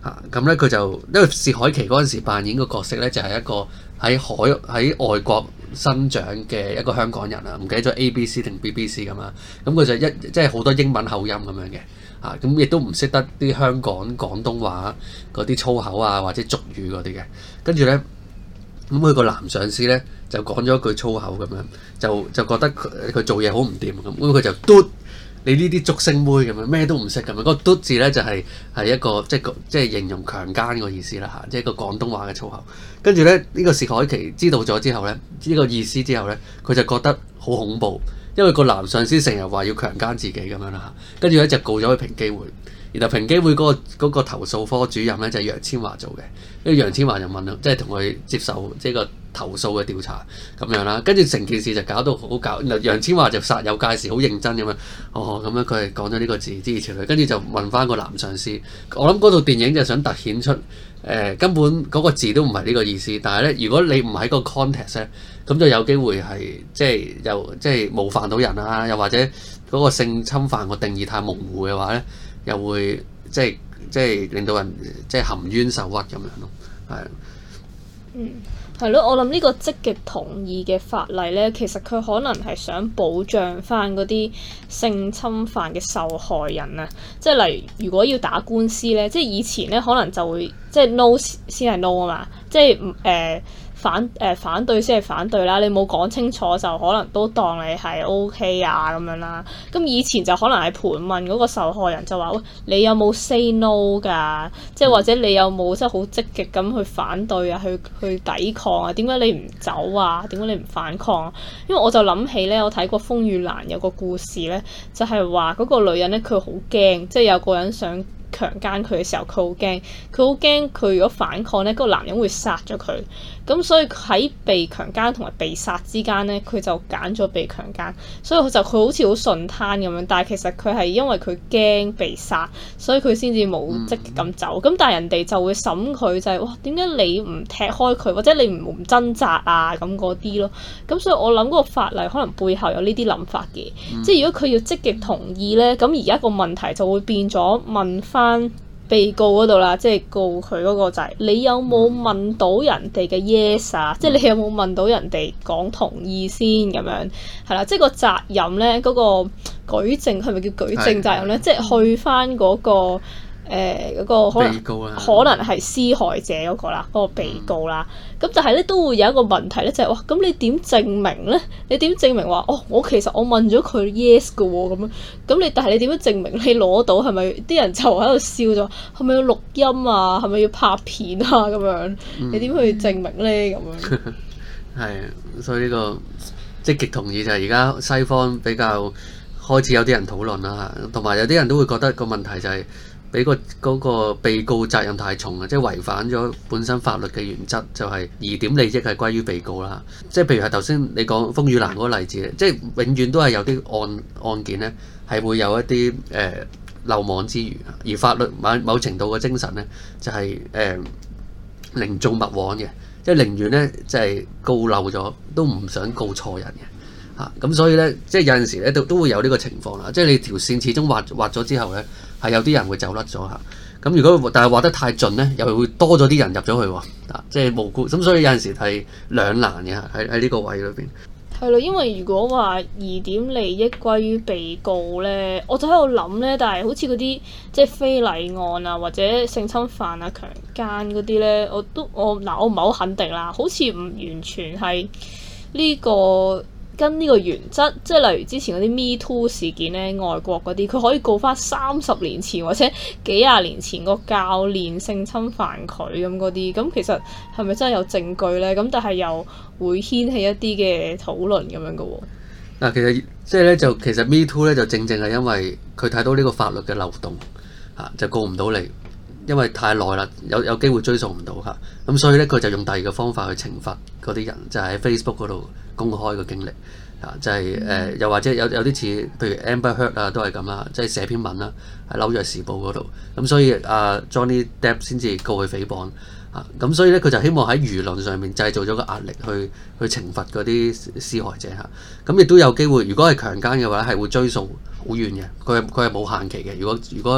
[SPEAKER 1] 咁咧佢就因為薛凱琪嗰陣時扮演個角色咧，就係一個喺外國生長嘅一個香港人啊，唔記得咗 ABC 定 BBC 咁啊。咁佢就即係好多英文口音咁樣嘅，咁亦都唔識得啲香港廣東話嗰啲粗口啊或者俗語嗰啲嘅。跟住咧，咁佢個男上司咧就講咗一句粗口咁樣，就覺得佢做嘢好唔掂咁，佢就嘟。你呢啲竹升妹咁樣咩都唔識咁樣，嗰個嘟字咧就係一個即係形容強姦個意思啦嚇，即係一個廣東話嘅粗口。跟住咧呢個薛凱琪知道咗之後咧，呢個意思之後咧，佢就覺得好恐怖，因為個男上司成日話要強姦自己咁樣啦嚇。跟住咧就告咗去平機會，然後平機會嗰個投訴科主任咧就係楊千嬅做嘅，跟住楊千嬅就問啦，即係同佢接受即係個投訴嘅調查咁樣啦，跟住成件事就搞到好搞，楊千嬅就煞有介事，好認真咁樣，咁樣佢係講咗呢個字諸如此類，跟住就問翻個男上司，我諗嗰套電影就想突顯出根本嗰個字都唔係呢個意思，但係咧如果你唔喺個 context 咧，咁就有機會係即係冒犯到人啊，又或者嗰個性侵犯個定義太模糊嘅話咧，又會即係令到人即係含冤受屈咁樣咯，係。
[SPEAKER 3] 係咯，我諗呢個積極同意嘅法例咧，其實佢可能係想保障翻嗰啲性侵犯嘅受害人啊，即係例如如果要打官司咧，即係以前咧可能就會即係 no 先係 no 啊嘛，即係反對先係反對啦，你冇講清楚就可能都當你係 OK 啊咁樣啦。咁以前就可能係盤問嗰個受害人就話：喂，你有冇 say no 㗎？即係或者你有冇即係好積極咁去反對啊，去抵抗啊？點解你唔走啊？點解你唔反抗啊？因為我就諗起咧，我睇過《風雨蘭》有個故事咧，就係話嗰個女人咧，佢好驚，即係有個人想強姦佢嘅時候，佢好驚，佢如果反抗咧，嗰個男人會殺咗佢。咁所以喺被強姦同埋被殺之間咧，佢就揀咗被強姦，所以佢好似好順攤咁樣。但係其實佢係因為佢驚被殺，所以佢先至冇積極咁走。咁但係人哋就會審佢就係：哇，點解你唔踢開佢，或者你唔掙扎啊咁嗰啲咯？咁所以我諗嗰個法例可能背後有呢啲諗法嘅。即係如果佢要積極同意咧，咁而家個問題就會變咗問翻被告嗰度啦，即係告佢嗰個就係你有冇問到人哋嘅 yes 啊？即係你有冇問到人哋講同意先咁樣係啦？即係個責任咧，嗰個舉證係咪叫舉證責任咧？即係去翻嗰個嗰個可能係施害者嗰個啦，嗰個被告啦。咁但係咧都會有一個問題咧，就係哇，咁你點證明咧？你點證明話我其實我問咗佢 yes 嘅喎咁樣？咁但係你點樣證明你攞到係咪？啲人就喺度笑咗，係咪要錄音啊？係咪要拍片啊？咁樣你點去證明咧？咁樣
[SPEAKER 1] 係，所以呢個積極同意就係而家西方比較開始有啲人討論啦，同埋有啲人都會覺得個問題就係俾嗰個被告責任太重啊，即係違反咗本身法律嘅原則，就係疑點利益係歸於被告啦。即係譬如係頭先你講風雨蘭嗰個例子，即係永遠都係有啲案件咧係會有一啲漏網之魚，而法律某程度嘅精神咧就係寧縱勿枉嘅，即係寧願咧就係告漏咗都唔想告錯人嘅。咁所以咧，即係有陣時咧都會有呢個情況啦。即係你條線始終畫咗之後咧，係有啲人會走甩咗嚇。咁如果但係畫得太盡咧，又會多咗啲人入咗去喎。即係無辜。咁所以有陣時係兩難嘅喺呢個位裏邊。
[SPEAKER 3] 係咯，因為如果話疑點利益歸於被告咧，我就喺度諗咧，但係好似嗰啲即係非禮案啊，或者性侵犯啊、強姦嗰啲咧，我唔係好肯定啦，好似唔完全係呢個。跟呢個原則，即係例如之前嗰啲 Me Too 事件咧，外國嗰啲佢可以告翻30年前或者幾廿年前個教練性侵犯佢咁嗰啲，咁其實係咪真係有證據咧？咁但係又會掀起一啲嘅討論咁樣嘅喎。
[SPEAKER 1] 嗱，其實即係咧，其實 Me Too 咧就正係因為佢睇到呢個法律嘅漏洞就告唔到你，因為太耐啦，有機會追溯唔到嚇，咁所以咧佢就用第二個方法去懲罰嗰啲人，就係喺 Facebook 嗰度公開個經歷就係又或者有啲似譬如 Amber Heard 啊，都係咁啦，即係寫篇文啦喺紐約時報嗰度，咁所以Johnny Depp 先至告佢誹謗咁所以咧佢就希望喺輿論上面製造咗個壓力去懲罰嗰啲施害者嚇，咁亦都有機會，如果係強姦嘅話係會追溯好遠嘅，佢係冇限期嘅，如果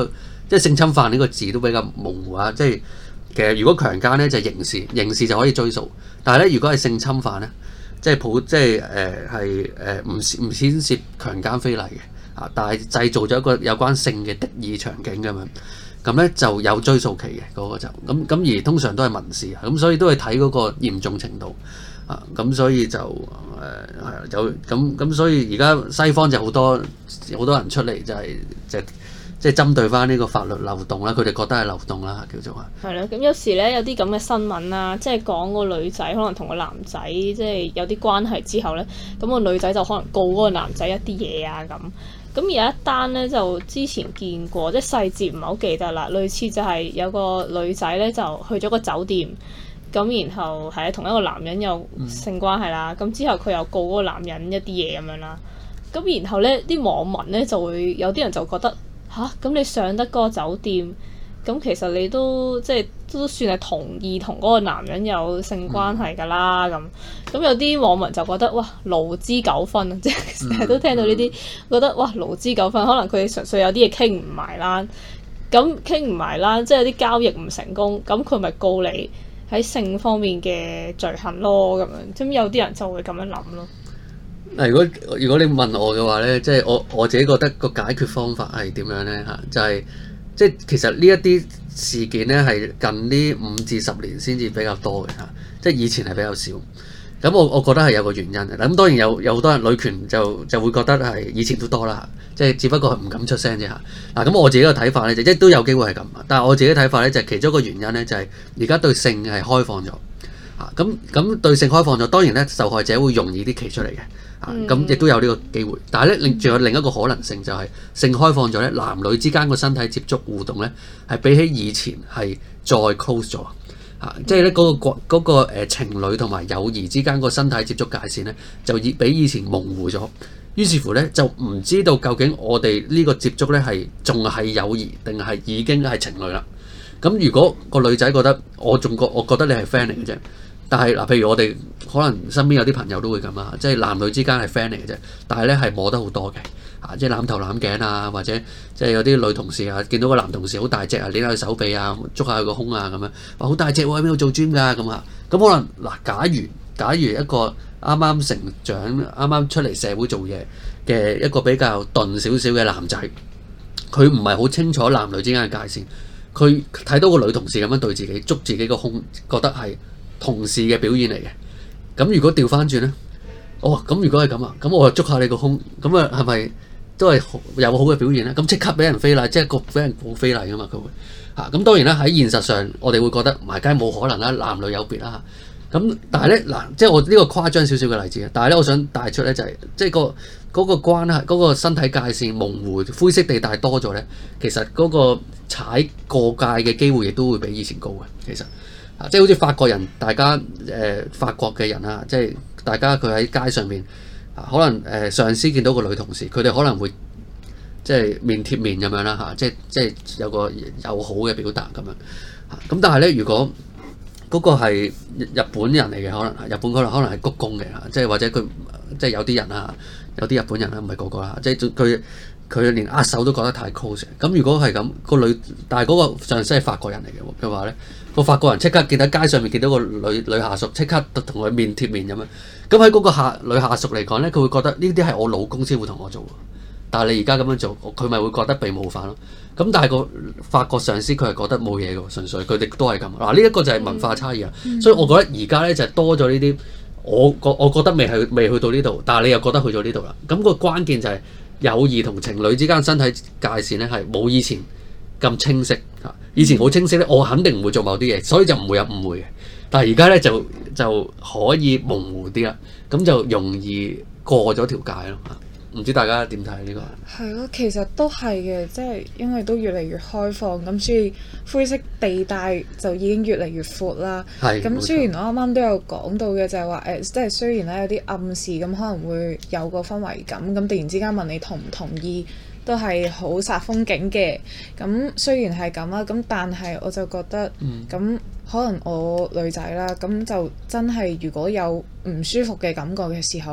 [SPEAKER 1] 即係性侵犯呢個字都比較模糊啊。即係其實如果強姦咧就係刑事，刑事就可以追訴。但係咧如果係性侵犯咧，即係唔牽涉強姦非禮嘅啊，但係製造咗一個有關性嘅敵意場景咁樣，咁咧就有追訴期嘅嗰個就咁而通常都係民事啊，咁所以都係睇嗰個嚴重程度啊，咁所以就有咁所以而家西方就好多人出嚟就即係針對翻呢個法律漏洞啦，佢哋覺得係漏洞啦，叫做啊。
[SPEAKER 3] 係咯，咁有時咧有啲咁嘅新聞啦，即係講個女仔可能同個男仔即係有啲關係之後咧，咁個女仔就可能告嗰個男仔一啲嘢啊咁。咁有一單咧就之前見過，即係細節唔係好記得啦。類似就係有個女仔咧就去咗個酒店，咁然後係同一個男人有性關係啦。咁之後佢又告嗰個男人一啲嘢咁樣啦。咁然後咧啲網民咧就會有啲人就覺得吓，咁你上得嗰個酒店，咁其實你都即係都算係同意同嗰個男人有性關係㗎啦咁。咁有啲網民就覺得哇勞資糾紛啊，即係成日都聽到呢啲，覺得哇勞資糾紛，可能佢哋純粹有啲嘢傾唔埋啦。咁傾唔埋啦，即係有啲交易唔成功，咁佢咪告你喺性方面嘅罪行咯咁樣。咁有啲人就會咁樣諗咯。
[SPEAKER 1] 如果你問我嘅話咧，即係我自己覺得個解決方法係點樣咧嚇？就係即係其實呢一啲事件咧係近呢5至10年先至比較多嘅嚇，即係以前係比較少。咁我覺得係有個原因嘅。咁當然有好多人女權就會覺得係以前都多啦，即係只不過係唔敢出聲啫嚇。嗱咁我自己嘅睇法咧就即都有機會係咁，但係我自己睇法咧就係其中一個原因咧就係而家對性係開放咗嚇。咁對性開放咗，當然咧受害者會容易啲企出嚟嘅。咁亦都有呢個機會，但係咧，仲有另一個可能性就係性開放咗咧，男女之間個身體接觸互動咧，係比起以前係再 close 咗即係咧嗰個情侶同埋友誼之間個身體接觸界線咧，就比以前模糊咗。於是乎咧，就唔知道究竟我哋呢個接觸咧係仲係友誼定係已經係情侶啦。咁如果個女仔覺得我覺得你係 friend 嚟嘅啫。但係嗱，譬如我哋可能身邊有啲朋友都會咁啊，即係男女之間係 friend 嚟嘅啫，但係咧係摸得好多嘅即係攬頭攬頸啊，或者即係有啲女同事啊，見到個男同事好大隻啊，捏下佢手臂啊，捉下佢個胸啊咁樣，話好大隻喎，喺邊度做 gym 㗎咁啊？咁可能嗱，假如一個啱啱成長、啱啱出嚟社會做嘢嘅一個比較鈍少少嘅男仔，佢唔係好清楚男女之間嘅界線，佢睇到個女同事咁樣對自己捉自己個胸，覺得係同事嘅表現嚟嘅。咁如果調翻轉咧，咁如果係咁啊，咁我就捉下你個胸，咁啊係咪都係有好嘅表現咧？咁即刻俾人非禮，即係俾人告非禮噶嘛？佢會咁當然啦，喺現實上我哋會覺得埋街冇可能啦，男女有別啦。咁但係咧嗱，即係我呢個誇張少少嘅例子，但係咧我想帶出咧就係即係嗰個關係，嗰個身體界線模糊、灰色地帶多咗咧，其實嗰個踩過界嘅機會亦都會比以前高嘅，其實。即係好似法國人，大家法國嘅人啊，即係大家佢喺街上面可能上司見到個女同事，佢哋可能會即係面貼面咁樣啦即係有個友好嘅表達咁樣咁但係咧，如果嗰個係日本人嚟嘅，可能日本可能係鞠躬嘅即係或者佢即係有啲人啊，有啲日本人啦，唔係個個啦，即係佢連握手都覺得太 close。咁如果係咁個女，但係嗰個上司係法國人嚟嘅話咧，個法國人即刻見到街上面見到個女下屬，即刻同佢面貼面咁樣。咁喺嗰個女下屬嚟講咧，佢會覺得呢啲係我老公先會同我做，但係你而家咁樣做，佢咪會覺得被冒犯咯。咁但係個法國上司佢係覺得冇嘢嘅，純粹佢哋都係咁。嗱呢一個就係文化差異啊。所以我覺得而家咧就係多咗呢啲，我覺得未去到呢度，但係你又覺得去咗呢度啦。咁個關鍵就係友誼同情侶之間身體界線咧係冇以前咁清晰嚇。以前好清晰咧，我肯定唔會做某啲嘢，所以就唔會有誤會嘅。但係而家咧就可以模糊啲啦，咁就容易過咗條界咯嚇。唔知大家點睇呢個？
[SPEAKER 2] 係咯，其實都係嘅，即係因為都越嚟越開放，咁所以灰色地帶就已經越嚟越闊啦。係。咁雖然我啱啱都有講到嘅，就係話即係雖然咧有啲暗示，咁可能會有個氛圍感，咁突然之間問你同唔同意，都係好煞風景嘅。咁雖然係咁啦，咁但係我就覺得，咁可能我女仔啦，咁就真係如果有唔舒服嘅感覺嘅時候，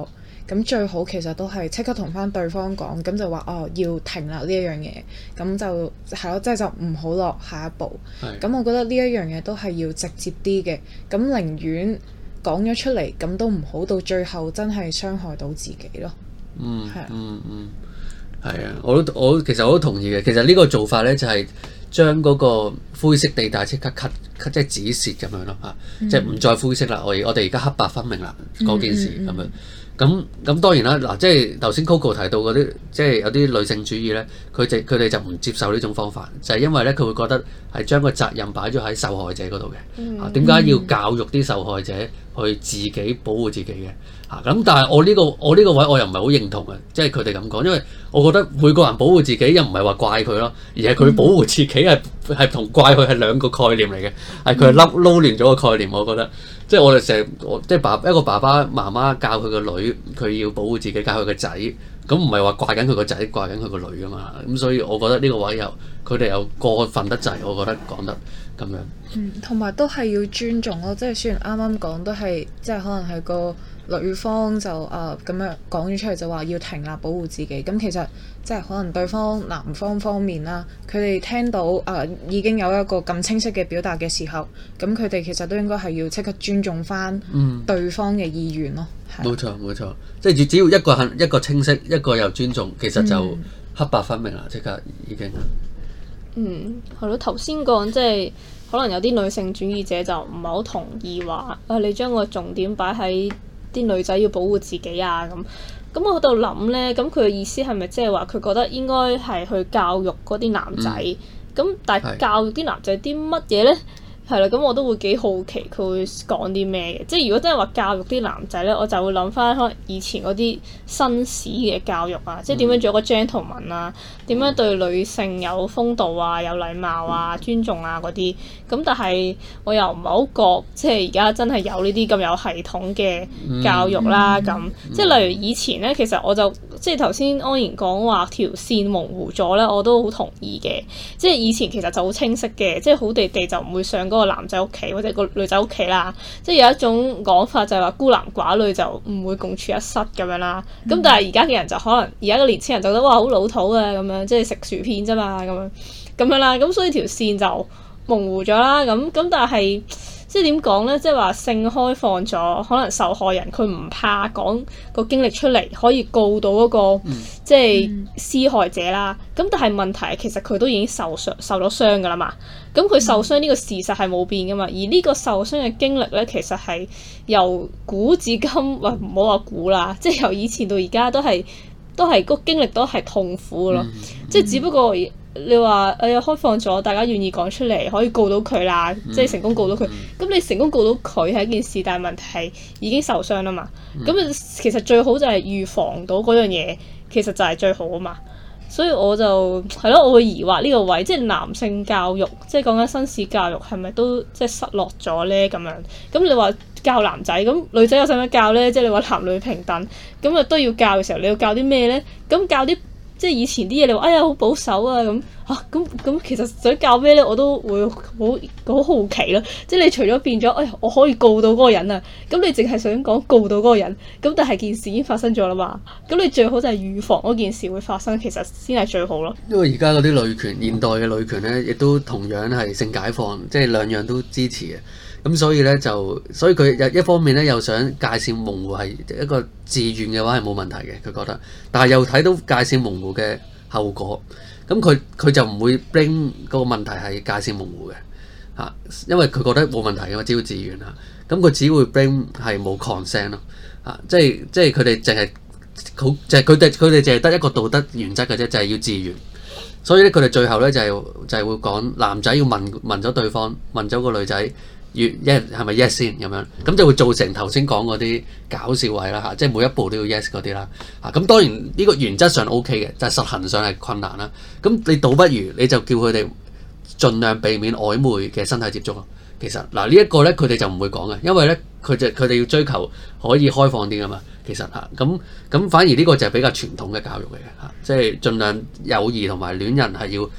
[SPEAKER 2] 咁最好其實都係即刻同翻對方講，咁就話要停啦呢一樣嘢，咁就係咯，即係就唔好落下一步。咁我覺得呢一樣嘢都係要直接啲嘅，咁寧願講咗出嚟，咁都唔好到最後真係傷害到自己咯。
[SPEAKER 1] 係啊，我其實我都同意嘅。其實呢個做法咧就係將嗰個灰色地帶即刻 cut 即係止蝕咁樣咯嚇，即係唔再灰色啦。我哋而家黑白分明啦，嗰件事咁樣。咁當然啦，嗱，即係頭先 Coco 提到嗰啲，即係有啲女性主義咧，佢哋就唔接受呢種方法，就係因為咧佢會覺得係將個責任擺咗喺受害者嗰度嘅。點解要教育啲受害者去自己保護自己嘅？咁但係我呢個位我又唔係好認同嘅，即係佢哋咁講，因為我覺得每個人保護自己又唔係話怪佢咯，而係佢保護自己係同怪佢係兩個概念嚟嘅，係佢係撈亂咗個概念。我覺得即係我哋成日即係一個爸爸媽媽教佢個女，佢要保護自己，教佢個仔，咁唔係話怪緊佢個仔，怪緊佢個女㗎嘛。咁所以我覺得呢個位佢哋又過分得滯，我覺得講得咁樣。
[SPEAKER 2] 同埋都係要尊重咯，即係雖然啱啱講都係即係可能係個女方就咁樣講咗出嚟就話要停啦，保護自己。咁其實即係可能對方男方面啦，佢哋聽到已經有一個咁清晰嘅表達嘅時候，咁佢哋其實都應該係要即刻尊重翻對方嘅意願咯。
[SPEAKER 1] 冇錯，即係只要一個清晰，一個又尊重，其實就黑白分明啦，即刻已經。
[SPEAKER 3] 係咯，頭先講即係可能有啲女性主義者就唔係好同意話你將個重點擺喺啲女仔要保護自己啊咁。咁我喺度諗咧，咁佢嘅意思係咪即係話佢覺得應該係去教育嗰啲男仔？咁但係教育啲男仔啲乜嘢咧？係啦，咁我都會幾好奇佢會講啲咩嘅。即係如果真係話教育啲男仔咧，我就會諗翻可能以前嗰啲紳士嘅教育啊，即係點樣做一個 gentleman 啊，點樣對女性有風度啊、有禮貌啊、尊重啊嗰啲。咁但係我又唔係好覺，即係而家真係有呢啲咁有系統嘅教育啦。咁即係例如以前咧，其實我就即係頭先安然講話條線模糊咗咧，我都好同意嘅。即係以前其實就好清晰嘅，即係好地地就唔會上嗰個男仔屋企或者個女仔屋企啦。即係有一種講法就係話孤男寡女就唔會共處一室咁樣啦。咁但係而家嘅人就可能而家嘅年輕人就覺得哇好老土啊咁樣，即係食薯片啫嘛咁樣啦。咁所以條線就模糊咗啦。咁但係即係點講咧？即係話性開放咗，可能受害人佢唔怕講個經歷出嚟，可以告到嗰個即係施害者啦。咁但係問題其實佢都已經受咗傷㗎啦嘛。咁佢受傷呢個事實係冇變㗎嘛。而呢個受傷嘅經歷咧，其實係由古至今，唔好話古啦，即係由以前到而家都係個經歷都係痛苦㗎咯。即係只不過你話開放咗，大家願意講出嚟，可以告到佢啦，即係成功告到佢。咁你成功告到佢係一件事，但係問題係已經受傷啦嘛。咁其實最好就係預防到嗰樣嘢，其實就係最好啊嘛。所以我就係咯，我會疑惑呢個位，即係男性教育，即係講緊紳士教育係咪都即係失落咗咧咁樣？咁你話教男仔，咁女仔有使乜教咧？即係你話男女平等，咁都要教嘅時候，你要教啲咩咧？咁教啲即係以前啲嘢，你話哎呀好保守啊咁咁其實想教咩咧？我都會好好奇咯。即係你除咗變咗，我可以告到嗰個人啊，咁你淨係想講告到嗰個人，咁但係件事已經發生咗啦嘛。咁你最好就係預防嗰件事會發生，其實先係最好咯。
[SPEAKER 1] 因為而家嗰啲女權，現代嘅女權咧，亦都同樣係性解放，即係兩樣都支持嘅。咁所以咧所以佢一方面咧又想界線模糊係一個自願嘅話係冇問題嘅，佢覺得，但係又睇到界線模糊嘅後果，咁佢就唔會 blame 嗰個問題係界線模糊嘅嚇，因為佢覺得冇問題嘅嘛，只要自願嚇，咁佢只會 blame 係冇 consent 咯嚇，即係佢哋淨係好就係佢哋淨係得一個道德原則嘅啫，就係要自願。所以咧佢哋最後咧就係會講男仔要問咗對方，問咗個女仔。係咪 yes 先咁樣，咁就會造成頭先講嗰啲搞笑位啦嚇，即係每一步都要 yes 嗰啲啦嚇。咁當然呢個原則上 OK 嘅，但係實行上係困難啦。咁你倒不如你就叫佢哋盡量避免曖昧嘅身體接觸咯。其實嗱呢一個咧佢哋就唔會講嘅，因為咧佢哋要追求可以開放啲噶嘛。其實嚇咁反而呢個就係比較傳統嘅教育嚟嘅嚇，即係盡量友誼同埋戀人係要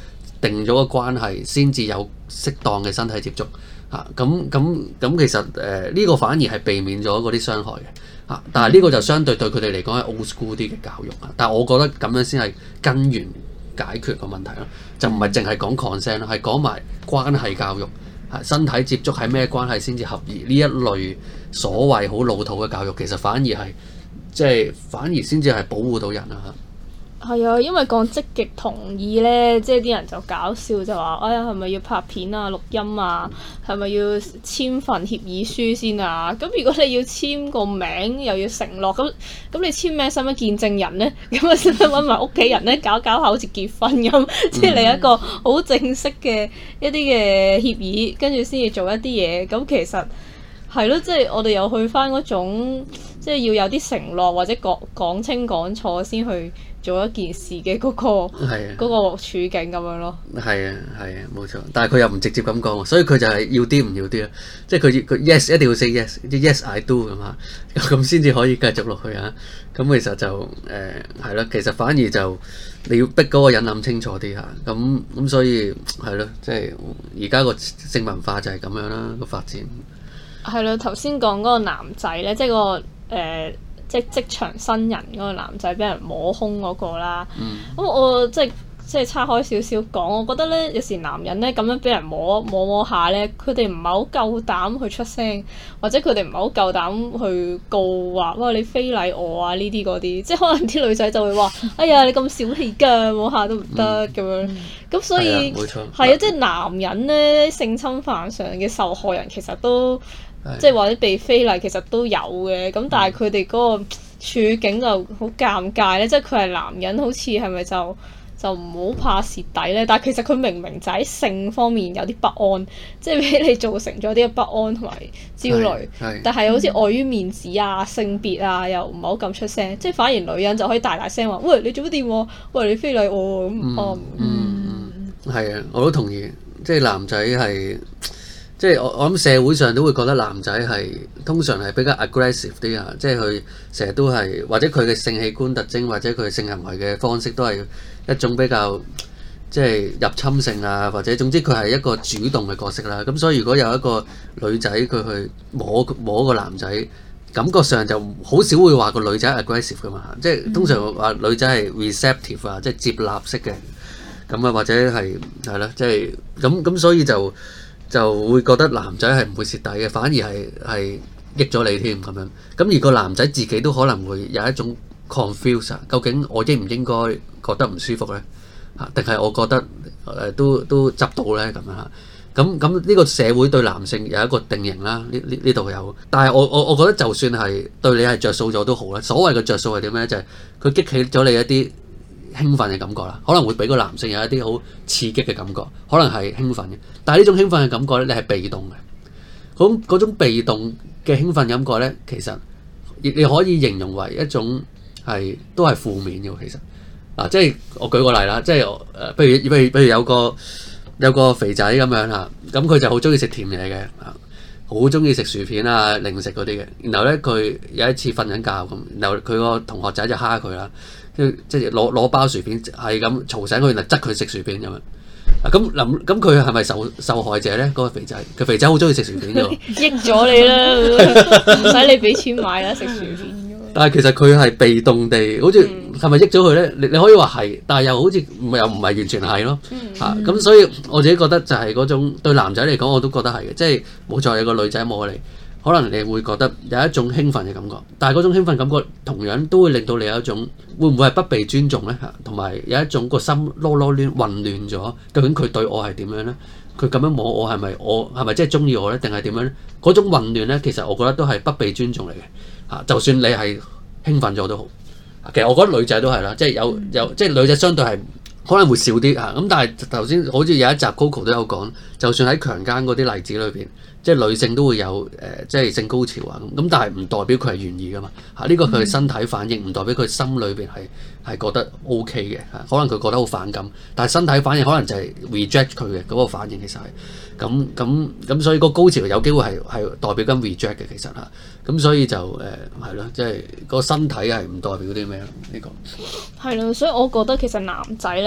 [SPEAKER 1] 定咗個關係先至有適當嘅身體接觸嚇。咁其實呢個反而係避免咗嗰啲傷害嘅嚇。但係呢個就相對對佢哋嚟講係 old school 啲嘅教育啊。但係我覺得咁樣先係根源解決個問題咯，就唔係淨係講 consent 咯，係講埋關係教育。身體接觸係咩關係先至合宜？呢一類所謂好老土嘅教育，其實反而係反而先至係保護到人啊！
[SPEAKER 3] 係啊，因為講積極同意咧，即係啲人就搞笑就話：哎呀，係咪要拍片啊、錄音啊？係咪要簽份協議書先啊？咁如果你要簽個名，又要承諾，咁你簽名使乜見證人咧？咁啊，使乜揾埋屋企人咧？搞下好似結婚咁，即係你一個好正式嘅一啲嘅協議，跟住先至做一啲嘢。咁其實係咯，即係我哋又去翻嗰種，即係要有啲承諾或者講清講錯先去做一件事嘅嗰個處境咁樣咯。
[SPEAKER 1] 係啊，冇錯。但係佢又唔直接咁講，所以佢就係要啲唔要啲咯。即係佢 yes 一定要 say yes I do 咁啊，咁先至可以繼續落去啊。咁其實就係咯，其實反而就你要逼嗰個人諗清楚啲嚇。咁所以係咯，即係而家個性文化就係咁樣啦，個發展。
[SPEAKER 3] 係咯，頭先講嗰個男仔咧，即係個即係職場新人嗰個男仔俾人摸胸嗰個啦。咁我即係岔開少少講，我覺得咧有時男人咧咁樣俾人摸下咧，佢哋唔係好夠膽去出聲，或者佢哋唔係好夠膽去告話哇你非禮我啊呢啲嗰啲，即係可能啲女仔就會話哎呀你咁小氣㗎，摸下都唔得咁樣。咁所以係啊，即係男人咧性侵犯上嘅受害人其實都即係或者被非禮其實都有嘅，咁但係佢哋嗰個處境就好尷尬咧，即係佢係男人，好似係咪就唔好怕蝕底咧？但係其實佢明明就喺性方面有啲不安，即係俾你造成咗啲不安同埋焦慮，但係好似礙於面子啊、性別啊，又唔係好咁出聲，即係反而女人就可以大聲話：喂，你做乜掂喎？喂，你非禮我咁。
[SPEAKER 1] 係啊，我都同意，即係男仔係。即係我諗社會上都會覺得男仔係通常係比較 aggressive 啲啊，即係佢成日都係或者佢嘅性器官特徵或者佢嘅性行為嘅方式都係一種比較即係入侵性啊，或者總之佢係一個主動嘅角色啦。咁所以如果有一個女仔佢去摸個男仔，感覺上就好少會話個女仔 aggressive 噶嘛，即係通常話女仔係 receptive 啊，即係接納式嘅咁啊，或者係啦，即係咁所以就會覺得男仔係唔會蝕底嘅，反而係益咗你添咁樣。咁而個男仔自己都可能會有一種 confuse， 究竟我應唔應該覺得唔舒服呢？定係我覺得都執到呢？咁樣嚇。咁呢個社會對男性有一個定型啦，呢度有。但係我覺得就算係對你係着數咗都好啦。所謂嘅着數係點呢？就係佢激起咗你一啲興奮嘅感覺啦，可能會俾個男性有一啲好刺激嘅感覺，可能係興奮嘅。但係呢種興奮嘅感覺咧，你係被動嘅。嗰種被動嘅興奮感覺咧，其實你可以形容為一種都係負面嘅。其實即係我舉個例啦，即係譬如有個肥仔咁樣嚇，咁佢就好中意食甜嘢嘅，好中意食薯片啊、零食嗰啲嘅。然後咧，佢有一次瞓緊覺咁，然後佢個同學仔就蝦佢啦。即係攞包薯片係咁嘈醒佢，然後執佢食薯片咁樣。咁佢係咪受害者咧？嗰個肥仔，佢肥仔好中意食薯片嘅喎。
[SPEAKER 3] 益咗你啦，唔使你俾錢買啦，食薯片。
[SPEAKER 1] 但係其實佢係被動地，好似係咪益咗佢咧？你可以話係，但係又好似又唔係完全係咯。咁所以我自己覺得就係嗰種對男仔嚟講，我都覺得係嘅。即係冇錯，有個女仔摸你。可能你會覺得有一種興奮嘅感覺，但係嗰種興奮感覺同樣都會令到你有一種會唔會係不被尊重呢？同埋有一種個心囉攣混亂咗，究竟佢對我係點樣呢？佢咁樣摸我係咪真係中意我呢？定係點樣呢？嗰種混亂呢，其實我覺得都係不被尊重嚟嘅。就算你係興奮咗都好，其實我覺得女仔都係啦，即係即係女仔相對係可能會少啲嚇。咁但係頭先好似有一集 Coco 都有講，就算喺強姦嗰啲例子裏邊。即係女性都會有即係性高潮啊咁，但係唔代表佢係願意噶嘛嚇，呢個佢身體反應，唔代表佢心裏邊係覺得 OK 嘅嚇，可能佢覺得好反感，但係身體反應可能就係 reject 佢嘅嗰個反應，其實係咁，所以個高潮有機會係代表緊 reject 嘅其實嚇，咁所以就係咯，即係個身體係唔代表啲咩咯呢個。
[SPEAKER 3] 係咯，所以我覺得其實男仔咧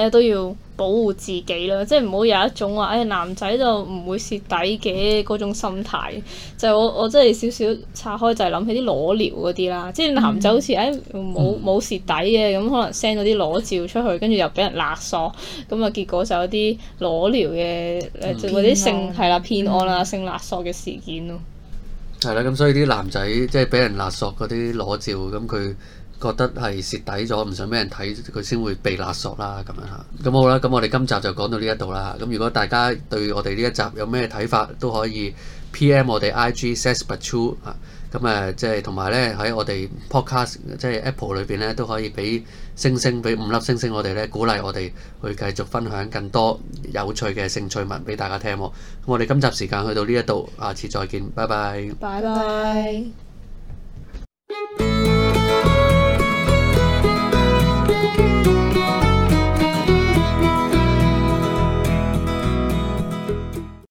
[SPEAKER 3] 咧都要保護自己啦，即係唔好有一種話男仔就唔會蝕底嘅嗰種心態。就我真係少少拆開就係諗起啲裸聊嗰啲啦，即係男仔好似冇蝕底嘅，咁可能 send 咗啲裸照出去，跟住又俾人勒索，咁啊結果就有啲裸聊嘅就嗰啲性係啦騙案啦、性勒索嘅事件咯。
[SPEAKER 1] 係啦，咁所以啲男仔即係俾人勒索嗰啲裸照，咁佢覺得係蝕底咗，唔想俾人睇，佢先會被勒索啦咁樣嚇。咁好啦，咁我哋今集就講到呢一度啦。咁如果大家對我哋呢一集有咩睇法，都可以 PM 我哋 IG saysbuttrue 啊。咁即係同埋咧喺我哋 podcast 即係 Apple 裏邊咧都可以俾星星，俾5粒星星我哋咧，鼓勵我哋去繼續分享更多有趣嘅性趣聞俾大家聽喎。咁我哋今集時間去到呢一度，下次再見，拜拜。
[SPEAKER 3] 拜拜。